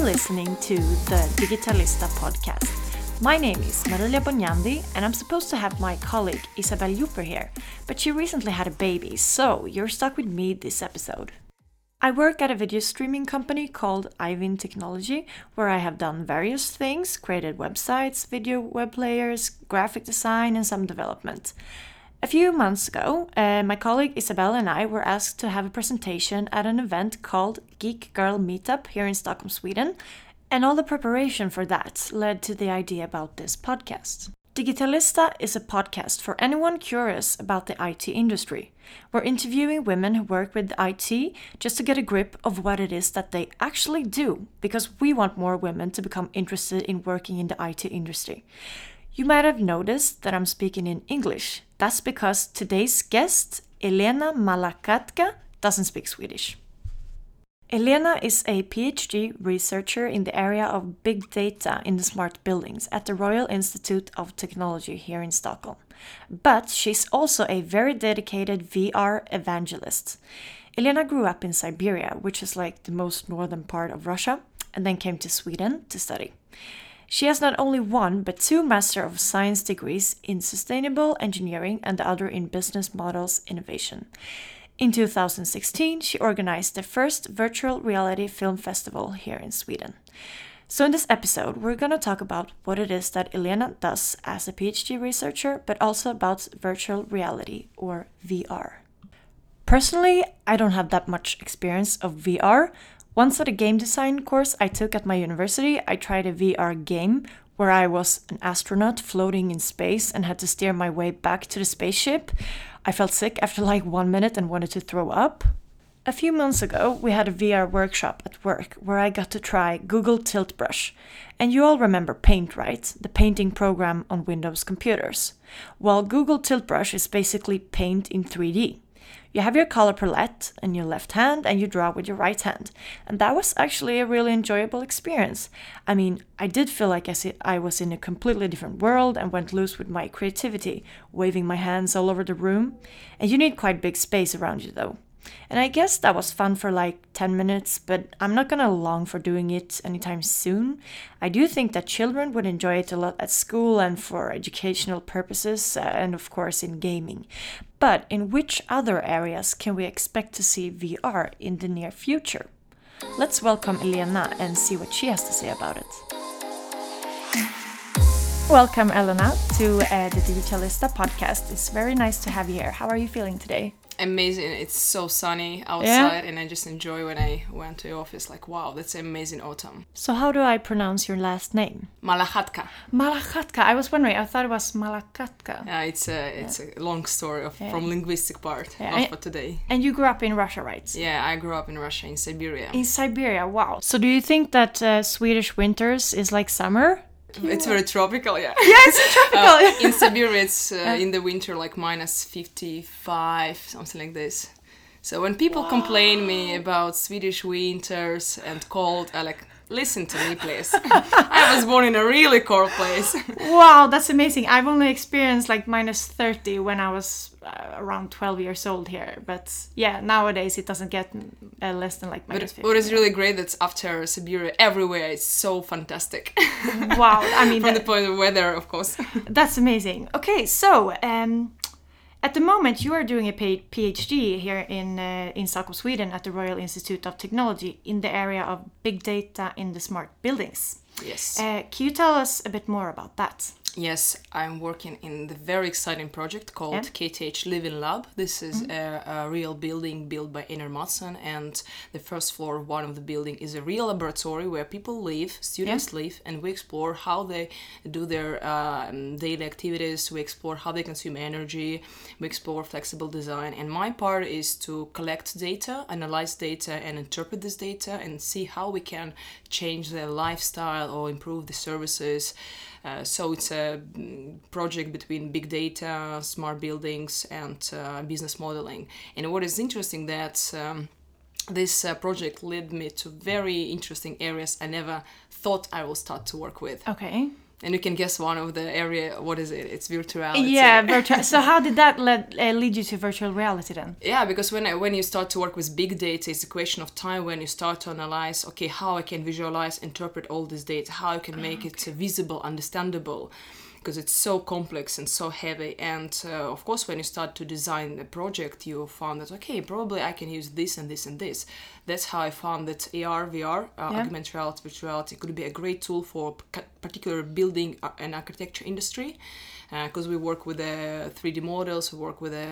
listening to the Digitalista podcast. My name is Marilia Bonyandi and I'm supposed to have my colleague Isabelle Juper here, but she recently had a baby, so you're stuck with me this episode. I work at a video streaming company called Ivin Technology, where I have done various things, created websites, video web players, graphic design and some development. A few months ago, my colleague Isabelle and I were asked to have a presentation at an event called Geek Girl Meetup here in Stockholm, Sweden, and all the preparation for that led to the idea about this podcast. Digitalista is a podcast for anyone curious about the IT industry. We're interviewing women who work with IT just to get a grip of what it is that they actually do, because we want more women to become interested in working in the IT industry. You might have noticed that I'm speaking in English. That's because today's guest, Elena Malakatka, doesn't speak Swedish. Elena is a PhD researcher in the area of big data in the smart buildings at the Royal Institute of Technology here in Stockholm. But she's also a very dedicated VR evangelist. Elena grew up in Siberia, which is like the most northern part of Russia, and then came to Sweden to study. She has not only one, but 2 Master of Science degrees in Sustainable Engineering and the other in Business Models Innovation. In 2016, she organized the first virtual reality film festival here in Sweden. So in this episode, we're going to talk about what it is that Elena does as a PhD researcher, but also about virtual reality, or VR. Personally, I don't have that much experience of VR. Once at a game design course I took at my university, I tried a VR game where I was an astronaut floating in space and had to steer my way back to the spaceship. I felt sick after like 1 minute and wanted to throw up. A few months ago, we had a VR workshop at work where I got to try Google Tilt Brush. And you all remember Paint, right? The painting program on Windows computers. Well, Google Tilt Brush is basically paint in 3D. You have your color palette in your left hand and you draw with your right hand. And that was actually a really enjoyable experience. I mean, I did feel like I was in a completely different world and went loose with my creativity, waving my hands all over the room. And you need quite big space around you though. And I guess that was fun for like 10 minutes, but I'm not gonna long for doing it anytime soon. I do think that children would enjoy it a lot at school and for educational purposes, and of course in gaming. But in which other areas can we expect to see VR in the near future? Let's welcome Elena and see what she has to say about it. Welcome, Elena, to the Digitalista podcast. It's very nice to have you here. How are you feeling today? Amazing. It's so sunny outside, and I just enjoy when I went to the office. Like, wow, that's amazing autumn. So how do I pronounce your last name? Malakatka. Malakatka. I was wondering. I thought it was Malakatka. Yeah, it's a long story from linguistic part, not for today. And you grew up in Russia, right? Yeah, I grew up in Russia, in Siberia. In Siberia, wow. So do you think that Swedish winters is like summer? It's very tropical, yeah. Yeah, it's tropical. In Siberia, it's in the winter like minus 55, something like this. So when people complain me about Swedish winters and cold, I like, listen to me, please. I was born in a really cold place. Wow, that's amazing. I've only experienced like minus 30 when I was around 12 years old here. But yeah, nowadays it doesn't get less than like minus 50. What is really great that's after Siberia, everywhere it's so fantastic. Wow, I mean... From the point of weather, of course. That's amazing. Okay, so... at the moment, you are doing a PhD here in Stockholm, Sweden at the Royal Institute of Technology in the area of big data in the smart buildings. Yes. Can you tell us a bit more about that? Yes, I'm working in the very exciting project called KTH Living Lab. This is a real building built by Einar Mattsson, and the first floor of one of the building is a real laboratory where people live, students live, and we explore how they do their daily activities, we explore how they consume energy, we explore flexible design, and my part is to collect data, analyze data, and interpret this data, and see how we can change their lifestyle or improve the services. So it's a project between big data, smart buildings, and business modeling. And what is interesting that this project led me to very interesting areas I never thought I will start to work with. Okay. And you can guess one of the area, what is it? It's virtual reality. Yeah, virtual. So how did that lead you to virtual reality then? Yeah, because when you start to work with big data, it's a question of time when you start to analyze, okay, how I can visualize, interpret all this data, how I can make it visible, understandable, because it's so complex and so heavy. And of course, when you start to design a project, you found that, okay, probably I can use this and this and this. That's how I found that AR, VR, augmented reality, virtual reality could be a great tool for particular building and architecture industry. Because we work with 3D models, we work with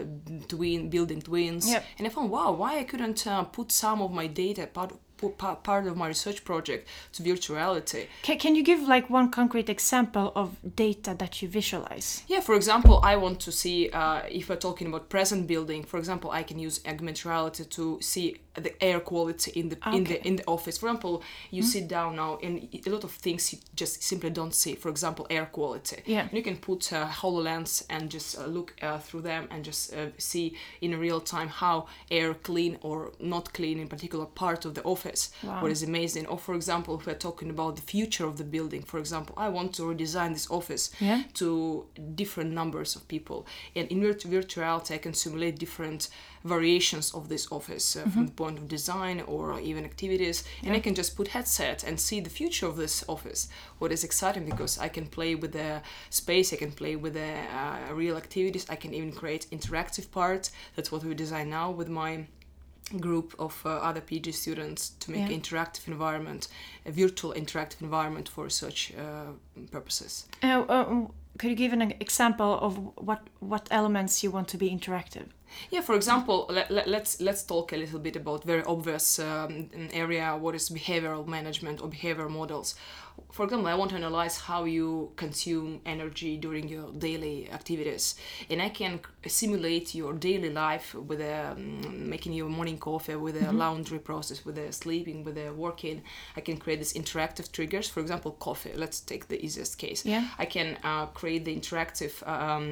building twins. Yep. And I found, wow, why I couldn't put some of my data, part of my research project, to virtual reality. Can you give like one concrete example of data that you visualize? Yeah, for example, I want to see, if we're talking about present building, for example, I can use augmented reality to see the air quality in the office. For example, you sit down now and a lot of things you just simply don't see. For example, air quality. Yeah. And you can put HoloLens and just look through them and just see in real time how air clean or not clean in particular part of the office. Wow. What is amazing. Or for example, if we're talking about the future of the building, for example, I want to redesign this office to different numbers of people. And in virtual reality, I can simulate different variations of this office from the point of design or even activities, and I can just put headset and see the future of this office. What is exciting, because I can play with the space, I can play with the real activities, I can even create interactive parts. That's what we design now with my group of other PhD students, to make an interactive environment, a virtual interactive environment for research purposes. Could you give an example of what elements you want to be interactive? Yeah, for example, let's talk a little bit about very obvious area, what is behavioral management or behavioral models. For example, I want to analyze how you consume energy during your daily activities, and I can simulate your daily life with making your morning coffee, with a laundry process, with the sleeping, with the working. I can create these interactive triggers. For example, coffee. Let's take the easiest case. Yeah. I can create the interactive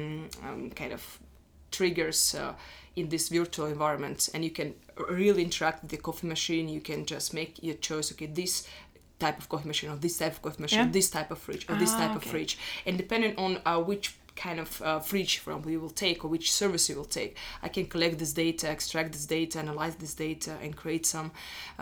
kind of triggers in this virtual environment, and you can really interact with the coffee machine. You can just make your choice, okay, this type of coffee machine, or this type of coffee machine, this type of fridge, or this type of fridge. And depending on which kind of fridge from you will take, or which service you will take, I can collect this data, extract this data, analyze this data, and create some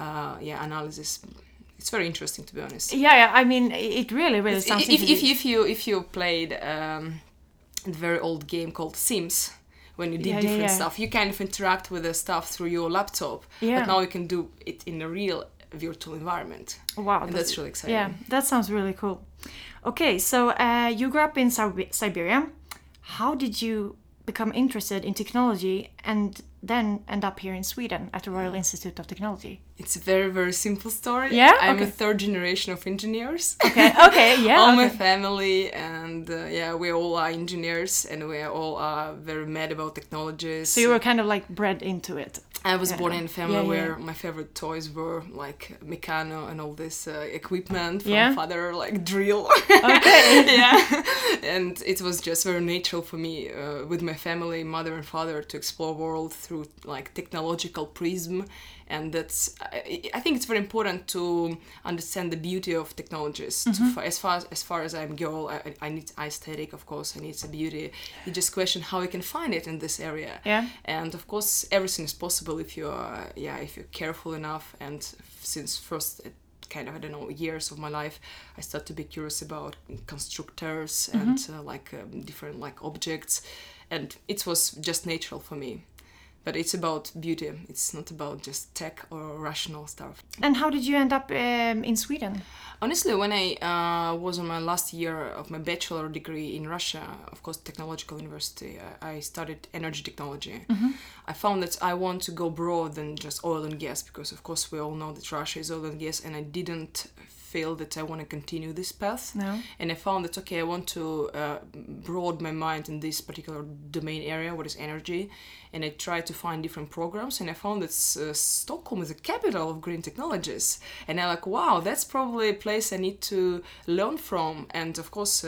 analysis. It's very interesting, to be honest. Yeah. I mean, it really sounds interesting. If you played a very old game called Sims, when you did different stuff, you kind of interact with the stuff through your laptop. But now you can do it in a real virtual environment. Wow, and that's really exciting. Yeah, that sounds really cool. Okay, so you grew up in Siberia. How did you become interested in technology and then end up here in Sweden at the Royal Institute of Technology? It's a very, very simple story. Yeah? I'm a third generation of engineers. Okay, yeah. All my family, and we all are engineers, and we all are very mad about technologies. So you were kind of like bred into it. I was born in a family where my favorite toys were like Meccano and all this equipment from father, like drill. Okay. And it was just very natural for me with my family, mother and father, to explore world through like technological prism. And that's, I think it's very important to understand the beauty of technologies. As far as I'm girl, I need aesthetic, of course, I need some beauty. You just question how you can find it in this area. Yeah. And of course, everything is possible if you're careful enough. And since first kind of, I don't know, years of my life, I started to be curious about constructors and different like objects. And it was just natural for me. But it's about beauty. It's not about just tech or rational stuff. And how did you end up in Sweden? Honestly, when I was on my last year of my bachelor degree in Russia, of course, technological university, I studied energy technology. I found that I want to go broad than just oil and gas, because of course we all know that Russia is oil and gas, and I didn't feel that I want to continue this path. No. And I found that, okay, I want to broaden my mind in this particular domain area, what is energy. And I tried to find different programs, and I found that Stockholm is the capital of green technologies. And I'm like, wow, that's probably a place I need to learn from. And of course,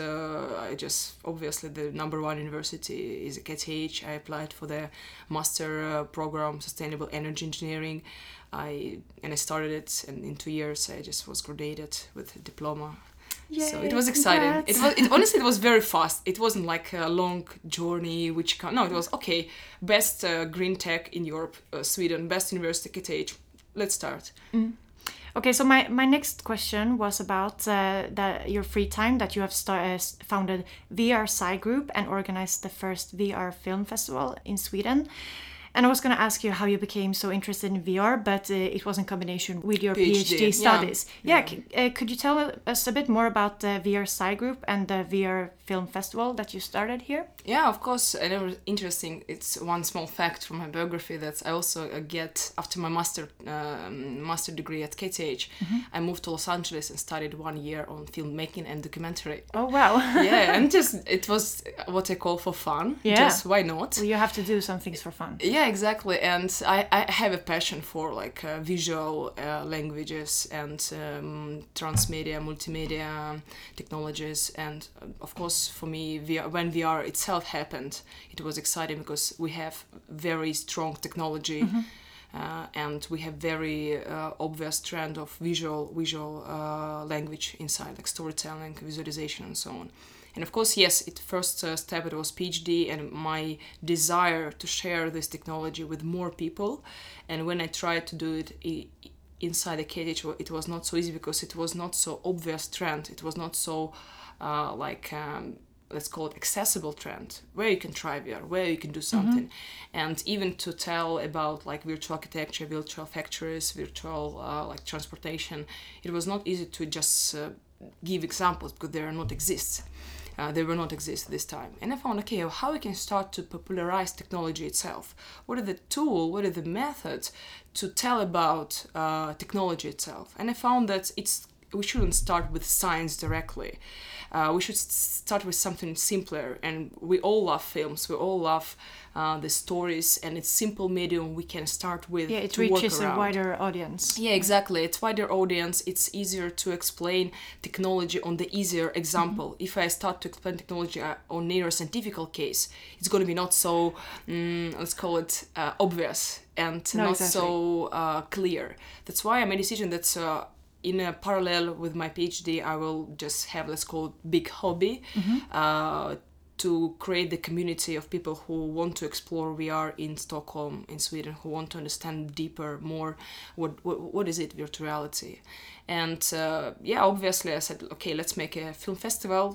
obviously the number one university is KTH. I applied for the master program, Sustainable Energy Engineering. I started it, and in 2 years I just was graduated with a diploma. Yay, so it was exciting. congrats. It was very fast. It wasn't like a long journey, no, it was okay. Best green tech in Europe, Sweden, best university KTH. Let's start. Okay, so my next question was about your free time, that you have founded VR Sci Group and organized the first VR film festival in Sweden. And I was going to ask you how you became so interested in VR, but it was in combination with your PhD studies. Could you tell us a bit more about the VR Sci Group and the VR Film Festival that you started here? Yeah, of course. And it was interesting. It's one small fact from my biography that I also get after my master degree at KTH. I moved to Los Angeles and studied 1 year on filmmaking and documentary. Oh wow! Yeah, and it was what I call for fun. Yeah. Just why not? Well, you have to do some things for fun. Yeah, exactly. And I have a passion for like visual languages and transmedia, multimedia technologies. And of course, for me, when VR itself happened, it was exciting because we have very strong technology. And we have very obvious trend of visual language inside, like storytelling, visualization, and so on. And of course, yes, first step it was PhD and my desire to share this technology with more people. And when I tried to do it inside the KTH, it was not so easy because it was not so obvious trend. It was not so let's call it accessible trend, where you can try VR, where you can do something. And even to tell about like virtual architecture, virtual factories, virtual like transportation, it was not easy to just give examples because they were not exist this time. And I found, okay, how we can start to popularize technology itself. What are the tools, what are the methods to tell about technology itself? And I found that we shouldn't start with science directly. We should start with something simpler. And we all love films. We all love the stories. And it's simple medium we can start with. Yeah, it reaches a wider audience. Yeah, exactly. It's wider audience. It's easier to explain technology on the easier example. If I start to explain technology on neuroscientific case, it's going to be not so, let's call it obvious and so clear. That's why I made a decision that in a parallel with my PhD, I will just have, let's call it, big hobby to create the community of people who want to explore VR in Stockholm, in Sweden, who want to understand deeper, more, what is it, virtual reality. And obviously I said, okay, let's make a film festival.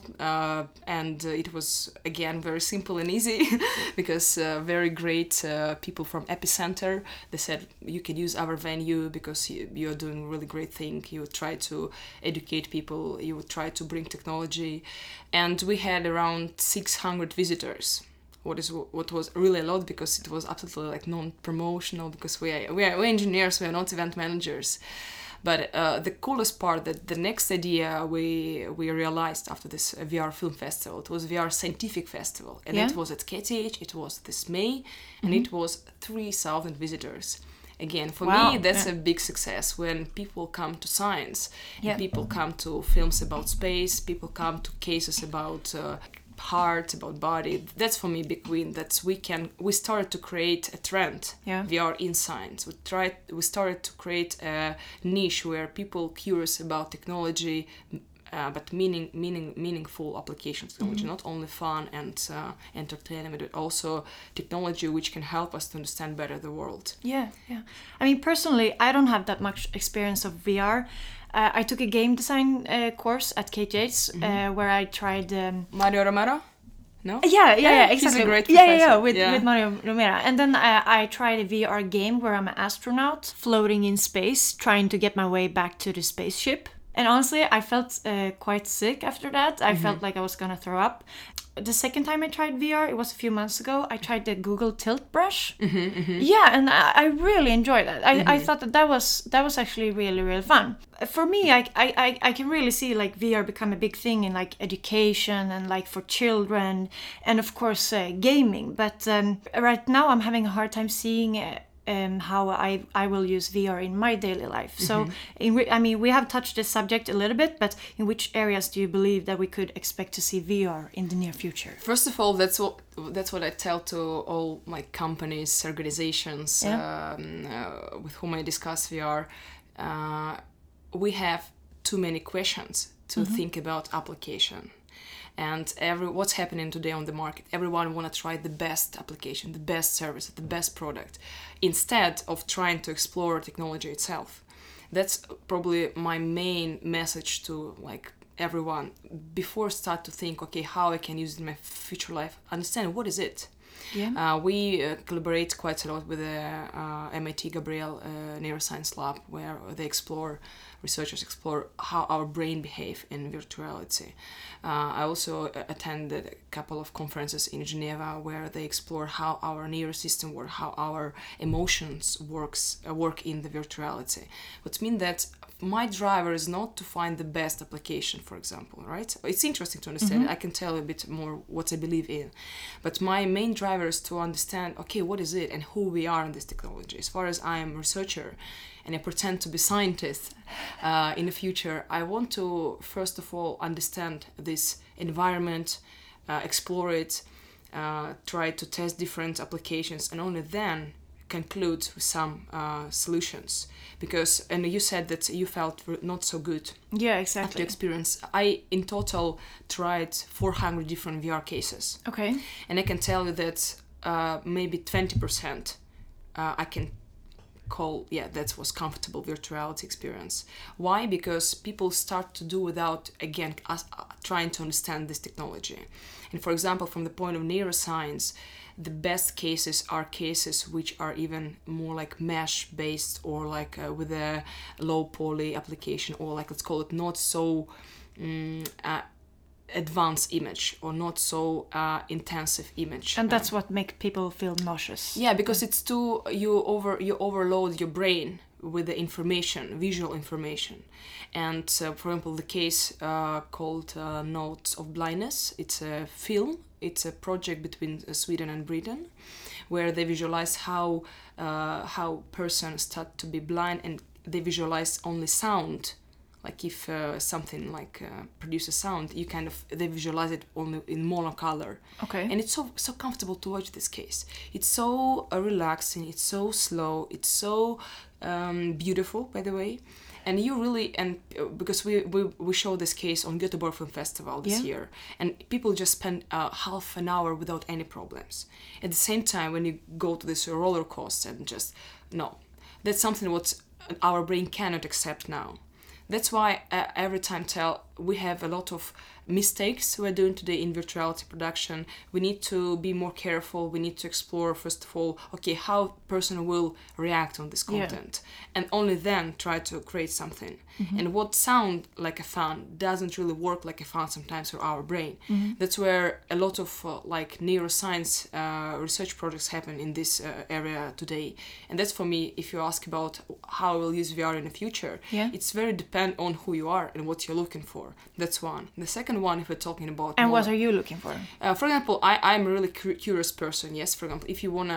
And it was, again, very simple and easy because very great people from Epicenter, they said, you can use our venue because you're doing a really great thing. You try to educate people, you try to bring technology. And we had around 600 visitors. What was really a lot because it was absolutely like non-promotional because we're engineers, we are not event managers. But the coolest part, that the next idea we realized after this VR Film Festival, it was VR Scientific Festival. And it was at KTH, it was this May, and it was 3,000 visitors. Again, for me, that's a big success when people come to science, and people come to films about space, people come to cases about heart, about body. That's for me big win. That we started to create a trend. VR in science. We started to create a niche where people curious about technology, but meaningful applications of technology, not only fun and entertainment, but also technology which can help us to understand better the world. Yeah. I mean, personally, I don't have that much experience of VR. I took a game design course at KTH where I tried... Mario Romero? No? Yeah, exactly. He's a great professor. With Mario Romero. And then I tried a VR game where I'm an astronaut floating in space, trying to get my way back to the spaceship. And honestly, I felt quite sick after that. I felt like I was gonna throw up. The second time I tried VR, it was a few months ago, I tried the Google Tilt Brush. Yeah, and I really enjoyed that. I thought that was actually really, really fun. For me, I can really see like VR become a big thing in like education and like for children and of course gaming. But right now I'm having a hard time seeing how I will use VR in my daily life. So, we have touched this subject a little bit, but in which areas do you believe that we could expect to see VR in the near future? First of all, that's what I tell to all my companies, organizations with whom I discuss VR. We have too many questions. to think about application. And what's happening today on the market, everyone want to try the best application, the best service, the best product, instead of trying to explore technology itself. That's probably my main message to like everyone. Before start to think, okay, how I can use it in my future life, understand what is it. Yeah. We collaborate quite a lot with the MIT Gabriel Neuroscience Lab, where researchers explore how our brain behave in virtuality. I also attended a couple of conferences in Geneva where they explore how our nervous system works, how our emotions work in the virtuality. Which means that my driver is not to find the best application, for example, right? It's interesting to understand. I can tell a bit more what I believe in. But my main driver is to understand, okay, what is it and who we are in this technology. As far as I am a researcher and I pretend to be scientist in the future, I want to, first of all, understand this environment, explore it, try to test different applications, and only then conclude with some solutions. Because, and you said that you felt not so good. Yeah, exactly. After experience, I in total tried 400 different VR cases. Okay. And I can tell you that maybe 20% I can call, that was comfortable virtuality experience. Why? Because people start to do without, again, trying to understand this technology. And for example, from the point of neuroscience, the best cases are cases which are even more like mesh based, or like with a low poly application, or like, let's call it not so advanced image, or not so intensive image. And that's what makes people feel nauseous. Yeah, because it's too, you overload your brain with the information, visual information. And for example, the case called Notes of Blindness, it's a film. It's a project between Sweden and Britain, where they visualize how persons start to be blind, and they visualize only sound. Like if something like produces sound, they visualize it only in monocolor. Okay. And it's so comfortable to watch this case. It's so relaxing. It's so slow. It's so beautiful, by the way. And you really, and because we showed this case on Göteborg Film Festival this year, and people just spend half an hour without any problems. At the same time, when you go to this roller coaster and just, no, that's something what our brain cannot accept now. That's why every time we have a lot of mistakes we're doing today in virtuality production. We need to be more careful. We need to explore, first of all, okay, how person will react on this content. And only then try to create something. And what sound like a fan doesn't really work like a fan sometimes for our brain. That's where a lot of like neuroscience research projects happen in this area today. And that's, for me, if you ask about how I will use VR in the future, it's very dependent on who you are and what you're looking for. That's one. The second one, if we're talking about... And what are you looking for? For example, I'm a really curious person. Yes, for example, if you want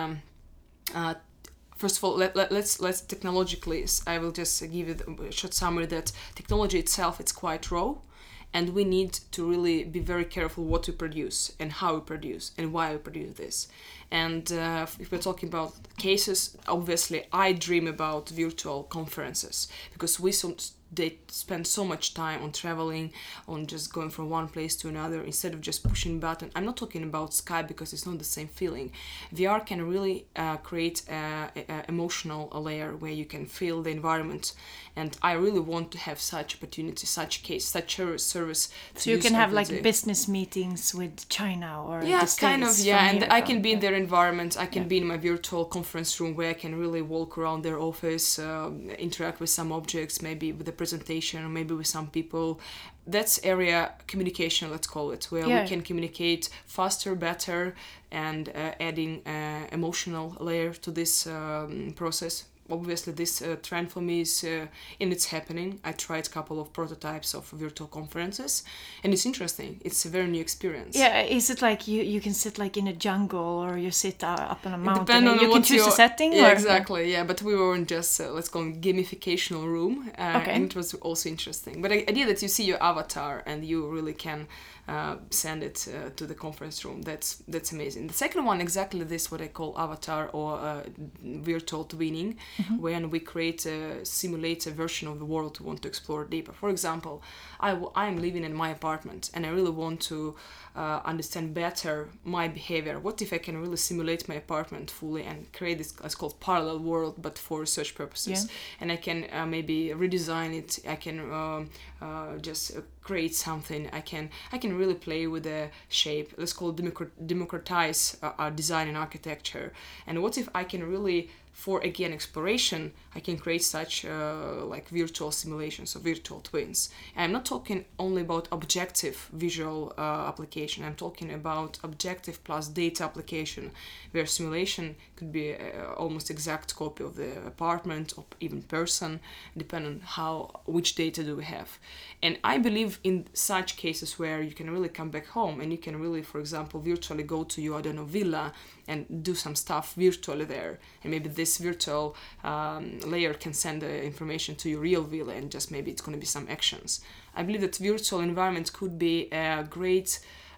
to... First of all, let's technologically, I will just give it a short summary that technology itself, it's quite raw, and we need to really be very careful what we produce and how we produce and why we produce this. And if we're talking about cases, obviously I dream about virtual conferences, because they spend so much time on traveling, on just going from one place to another instead of just pushing button. I'm not talking about Skype because it's not the same feeling. VR can really create an emotional layer where you can feel the environment. And I really want to have such opportunity, such case, such a service. So you can have like business meetings with China or yeah, kind of, yeah. And I can be in their environment. I can be in my virtual conference room where I can really walk around their office, interact with some objects, maybe with the presentation, or maybe with some people. That's area communication, let's call it, where we can communicate faster, better, and adding emotional layer to this process. Obviously, this trend for me is it's happening. I tried a couple of prototypes of virtual conferences, and it's interesting. It's a very new experience. Yeah, is it like you can sit like in a jungle, or you sit up on a mountain? Depending on you can choose a setting? Yeah, or? Exactly. Yeah, but we were in just, let's call it gamificational room, and it was also interesting. But the idea that you see your avatar and you really can send it to the conference room, that's amazing. The second one, exactly this, what I call avatar or virtual twinning. when we create a simulated version of the world we want to explore deeper. For example, I'm living in my apartment and I really want to understand better my behavior. What if I can really simulate my apartment fully and create this, it's called parallel world, but for research purposes. And I can maybe redesign it. I can just create something. I can really play with the shape. Let's call it democratize design and architecture. And what if I can really, for again exploration, I can create such like virtual simulations or virtual twins. And I'm not talking only about objective visual application. I'm talking about objective plus data application, where simulation could be almost exact copy of the apartment or even person, depending on which data do we have. And I believe in such cases where you can really come back home and you can really, for example, virtually go to your, villa and do some stuff virtually there. And maybe this virtual layer can send the information to your real villa and just maybe it's going to be some actions. I believe that virtual environment could be a great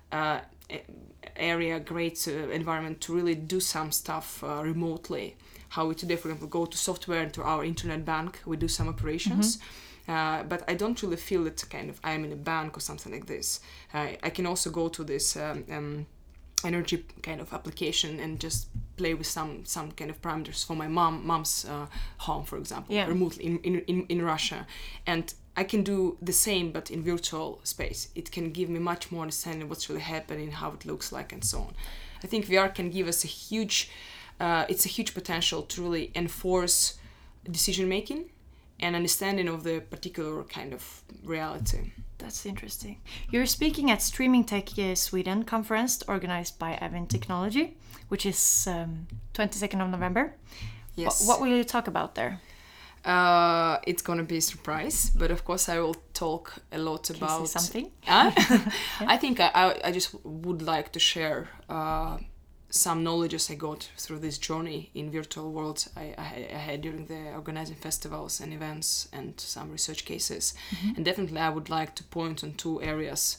environment to really do some stuff remotely. How we today, for example, go to software into our internet bank, we do some operations. But I don't really feel that kind of I'm in a bank or something like this. I can also go to this energy kind of application and just play with some kind of parameters for my mom's home, for example, remotely in Russia. And I can do the same, but in virtual space. It can give me much more understanding of what's really happening, how it looks like, and so on. I think VR can give us a huge potential to really enforce decision making and understanding of the particular kind of reality. That's interesting. You're speaking at Streaming Tech Sweden conference organized by Event Technology, which is 22nd of November. Yes. What will you talk about there? It's going to be a surprise, but of course I will talk a lot about... Can you say something? I think I just would like to share some knowledge I got through this journey in virtual worlds I had during the organizing festivals and events and some research cases. And definitely I would like to point on two areas.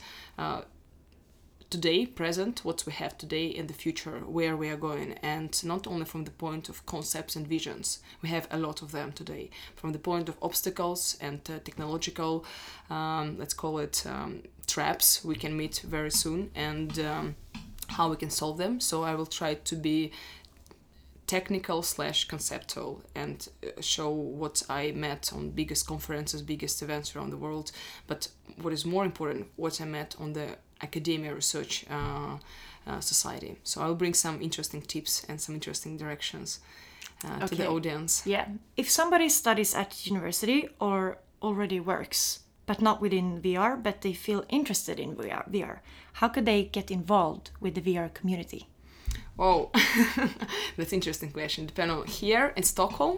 Today, present, what we have today, in the future, where we are going, and not only from the point of concepts and visions, we have a lot of them today, from the point of obstacles and technological, let's call it traps we can meet very soon, and how we can solve them. So I will try to be technical/conceptual and show what I met on biggest conferences, biggest events around the world, but what is more important, what I met on the academia research society. So I'll bring some interesting tips and some interesting directions to the audience. Yeah. If somebody studies at university or already works, but not within VR, but they feel interested in VR, how could they get involved with the VR community? Oh, that's an interesting question. Depending on here in Stockholm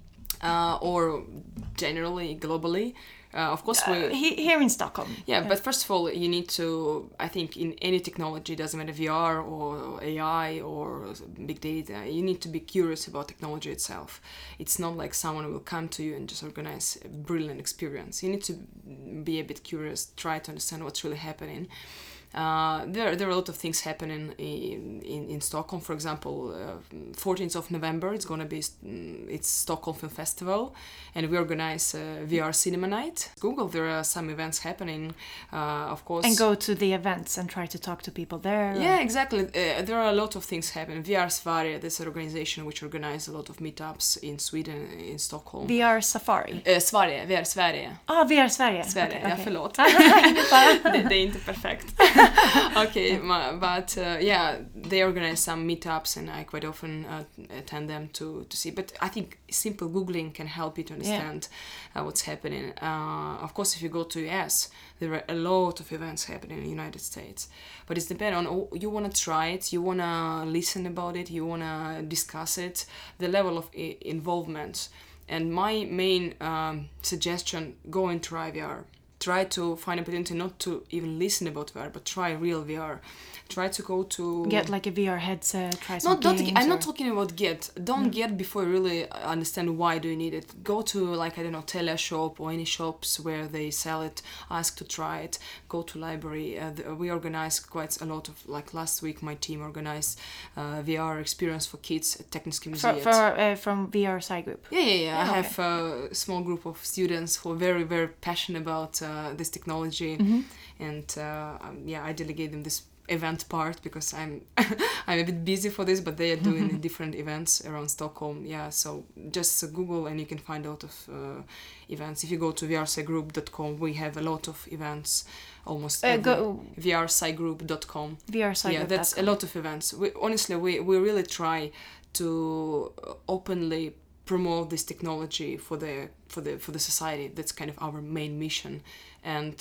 or generally globally. Of course, here in Stockholm. Yeah, but first of all, you need to, I think in any technology, it doesn't matter VR or AI or big data, you need to be curious about technology itself. It's not like someone will come to you and just organize a brilliant experience. You need to be a bit curious, try to understand what's really happening. There are a lot of things happening in Stockholm. For example, 14th of November, it's Stockholm Film Festival, and we organize VR Cinema Night. Google, there are some events happening, of course. And go to the events and try to talk to people there. Yeah, exactly. There are a lot of things happening. VR Sverige, this organization which organizes a lot of meetups in Sweden, in Stockholm. VR Safari? Sverige, VR Sverige. VR Sverige. Sverige, okay. Ja, förlåt. Det är inte perfekt. Okay, but they organize some meetups and I quite often attend them to see. But I think simple Googling can help you to understand what's happening. Of course, if you go to US, there are a lot of events happening in the United States. But it's dependent on, you want to try it, you want to listen about it, you want to discuss it, the level of involvement. And my main suggestion, go and try VR. try to find opportunity not to even listen about VR, but try real VR. Try to go to... Get like a VR headset, try some games. I'm not talking about get. Don't get before you really understand why do you need it. Go to, like, I don't know, Teleshop or any shops where they sell it. Ask to try it. Go to library. We organize quite a lot of, like last week my team organized VR experience for kids at Techniska Museet. From VR Sci Group? Yeah. I have a small group of students who are very, very passionate about this technology. And I delegate them this event part because I'm a bit busy for this, but they are doing different events around Stockholm. Yeah, so just Google and you can find a lot of events. If you go to vrscigroup.com, we have a lot of events. Almost vrscigroup.com. vrscigroup.com. Yeah, that's a lot of events. We really try to openly promote this technology for the society. That's kind of our main mission. And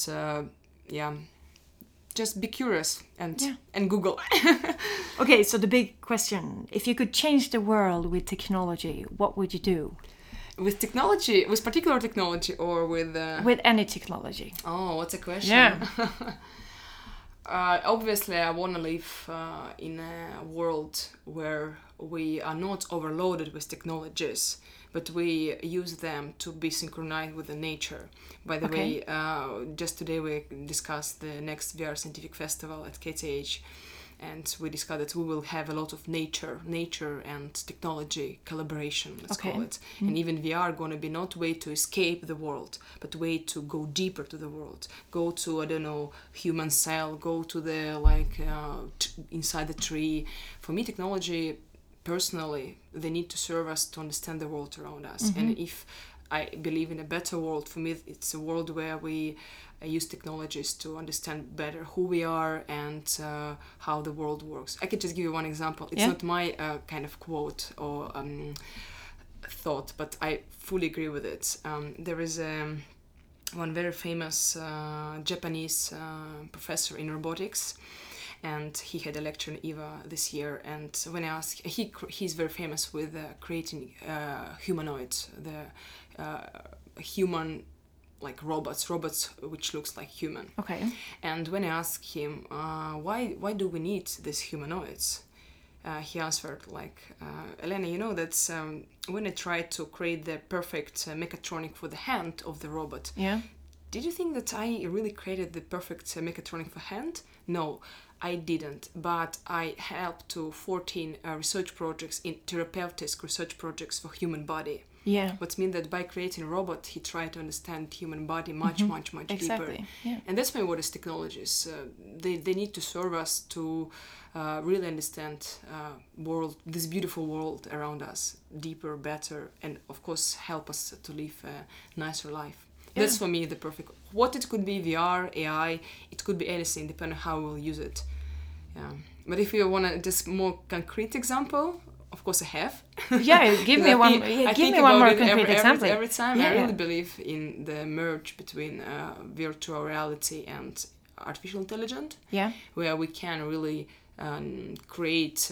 just be curious and Google. Okay, so the big question: if you could change the world with technology, what would you do? With technology, with particular technology, or with with any technology? Oh, what's a question? Yeah. Obviously, I want to live in a world where we are not overloaded with technologies, but we use them to be synchronized with the nature. By the way, just today we discussed the next VR Scientific Festival at KTH, and we discussed that we will have a lot of nature and technology collaboration, let's call it. And even VR going to be not way to escape the world, but way to go deeper to the world. Go to, I don't know, human cell, go to the, inside the tree. For me, technology, personally, they need to serve us to understand the world around us. And if I believe in a better world, for me, it's a world where we use technologies to understand better who we are and how the world works. I could just give you one example. It's not my kind of quote or thought, but I fully agree with it. There is one very famous Japanese professor in robotics, and he had a lecture in EVA this year. And when I asked, he's very famous with creating humanoids, the human, like robots which looks like human. Okay. And when I asked him, why do we need these humanoids? He answered Elena, you know that's when I tried to create the perfect mechatronic for the hand of the robot. Yeah. Did you think that I really created the perfect mechatronic for hand? No, I didn't, but I helped to 14 research projects in therapeutic research projects for human body. Yeah. Which means that by creating a robot, he tried to understand human body much exactly. deeper. Yeah. And that's my word is technologies. They need to serve us to really understand world, this beautiful world around us, deeper, better, and of course help us to live a nicer life. Yeah. That's for me the perfect. What it could be, VR, AI, it could be anything, depending on how we'll use it. Yeah. But if you want a just more concrete example, of course I have. Yeah, give me one. Give me one more concrete example. Every time I really believe in the merge between virtual reality and artificial intelligence. Yeah. Where we can really create,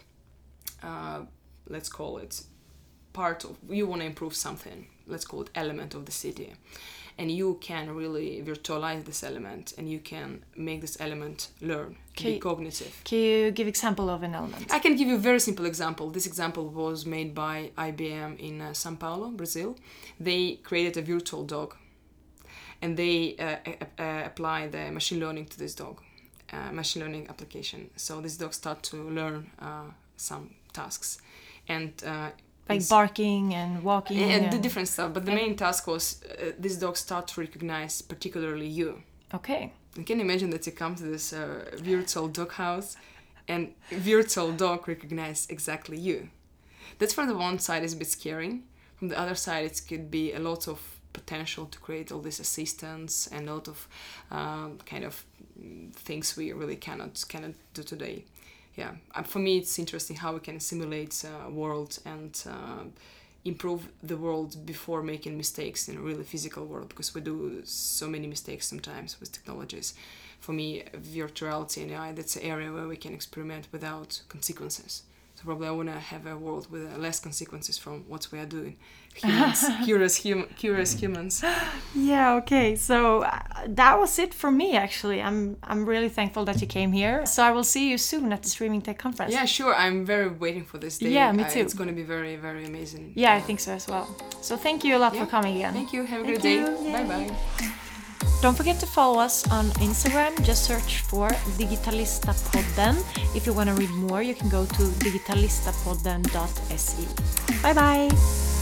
let's call it, part of. You want to improve something. Let's call it element of the city. And you can really virtualize this element, and you can make this element learn, be cognitive. Can you give example of an element? I can give you a very simple example. This example was made by IBM in São Paulo, Brazil. They created a virtual dog, and they apply the machine learning to this dog, machine learning application. So this dog start to learn some tasks, and barking and walking and the different stuff, but the main task was this dog start to recognize particularly you. Okay. You can imagine that you come to this virtual dog house and virtual dog recognize exactly you. That's from the one side is a bit scary. From the other side, it could be a lot of potential to create all these assistants and a lot of kind of things we really cannot do today. Yeah, for me it's interesting how we can simulate world and improve the world before making mistakes in a really physical world, because we do so many mistakes sometimes with technologies. For me, virtual reality and AI, that's an area where we can experiment without consequences. So So probably I want to have a world with less consequences from what we are doing. Humans, curious humans. Yeah, okay. So that was it for me, actually. I'm really thankful that you came here. So I will see you soon at the Streaming Tech Conference. Yeah, sure. I'm very waiting for this day. Yeah, me too. It's going to be very, very amazing. Yeah, I think so as well. So thank you a lot for coming again. Thank you. Have a good day. Bye-bye. Don't forget to follow us on Instagram. Just search for Digitalistapodden. If you want to read more, you can go to digitalistapodden.se. Bye bye!